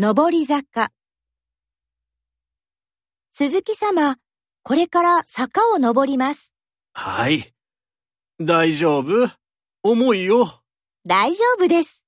上り坂。鈴木様、これから坂を上ります。 はい。大丈夫？重いよ。 大丈夫です。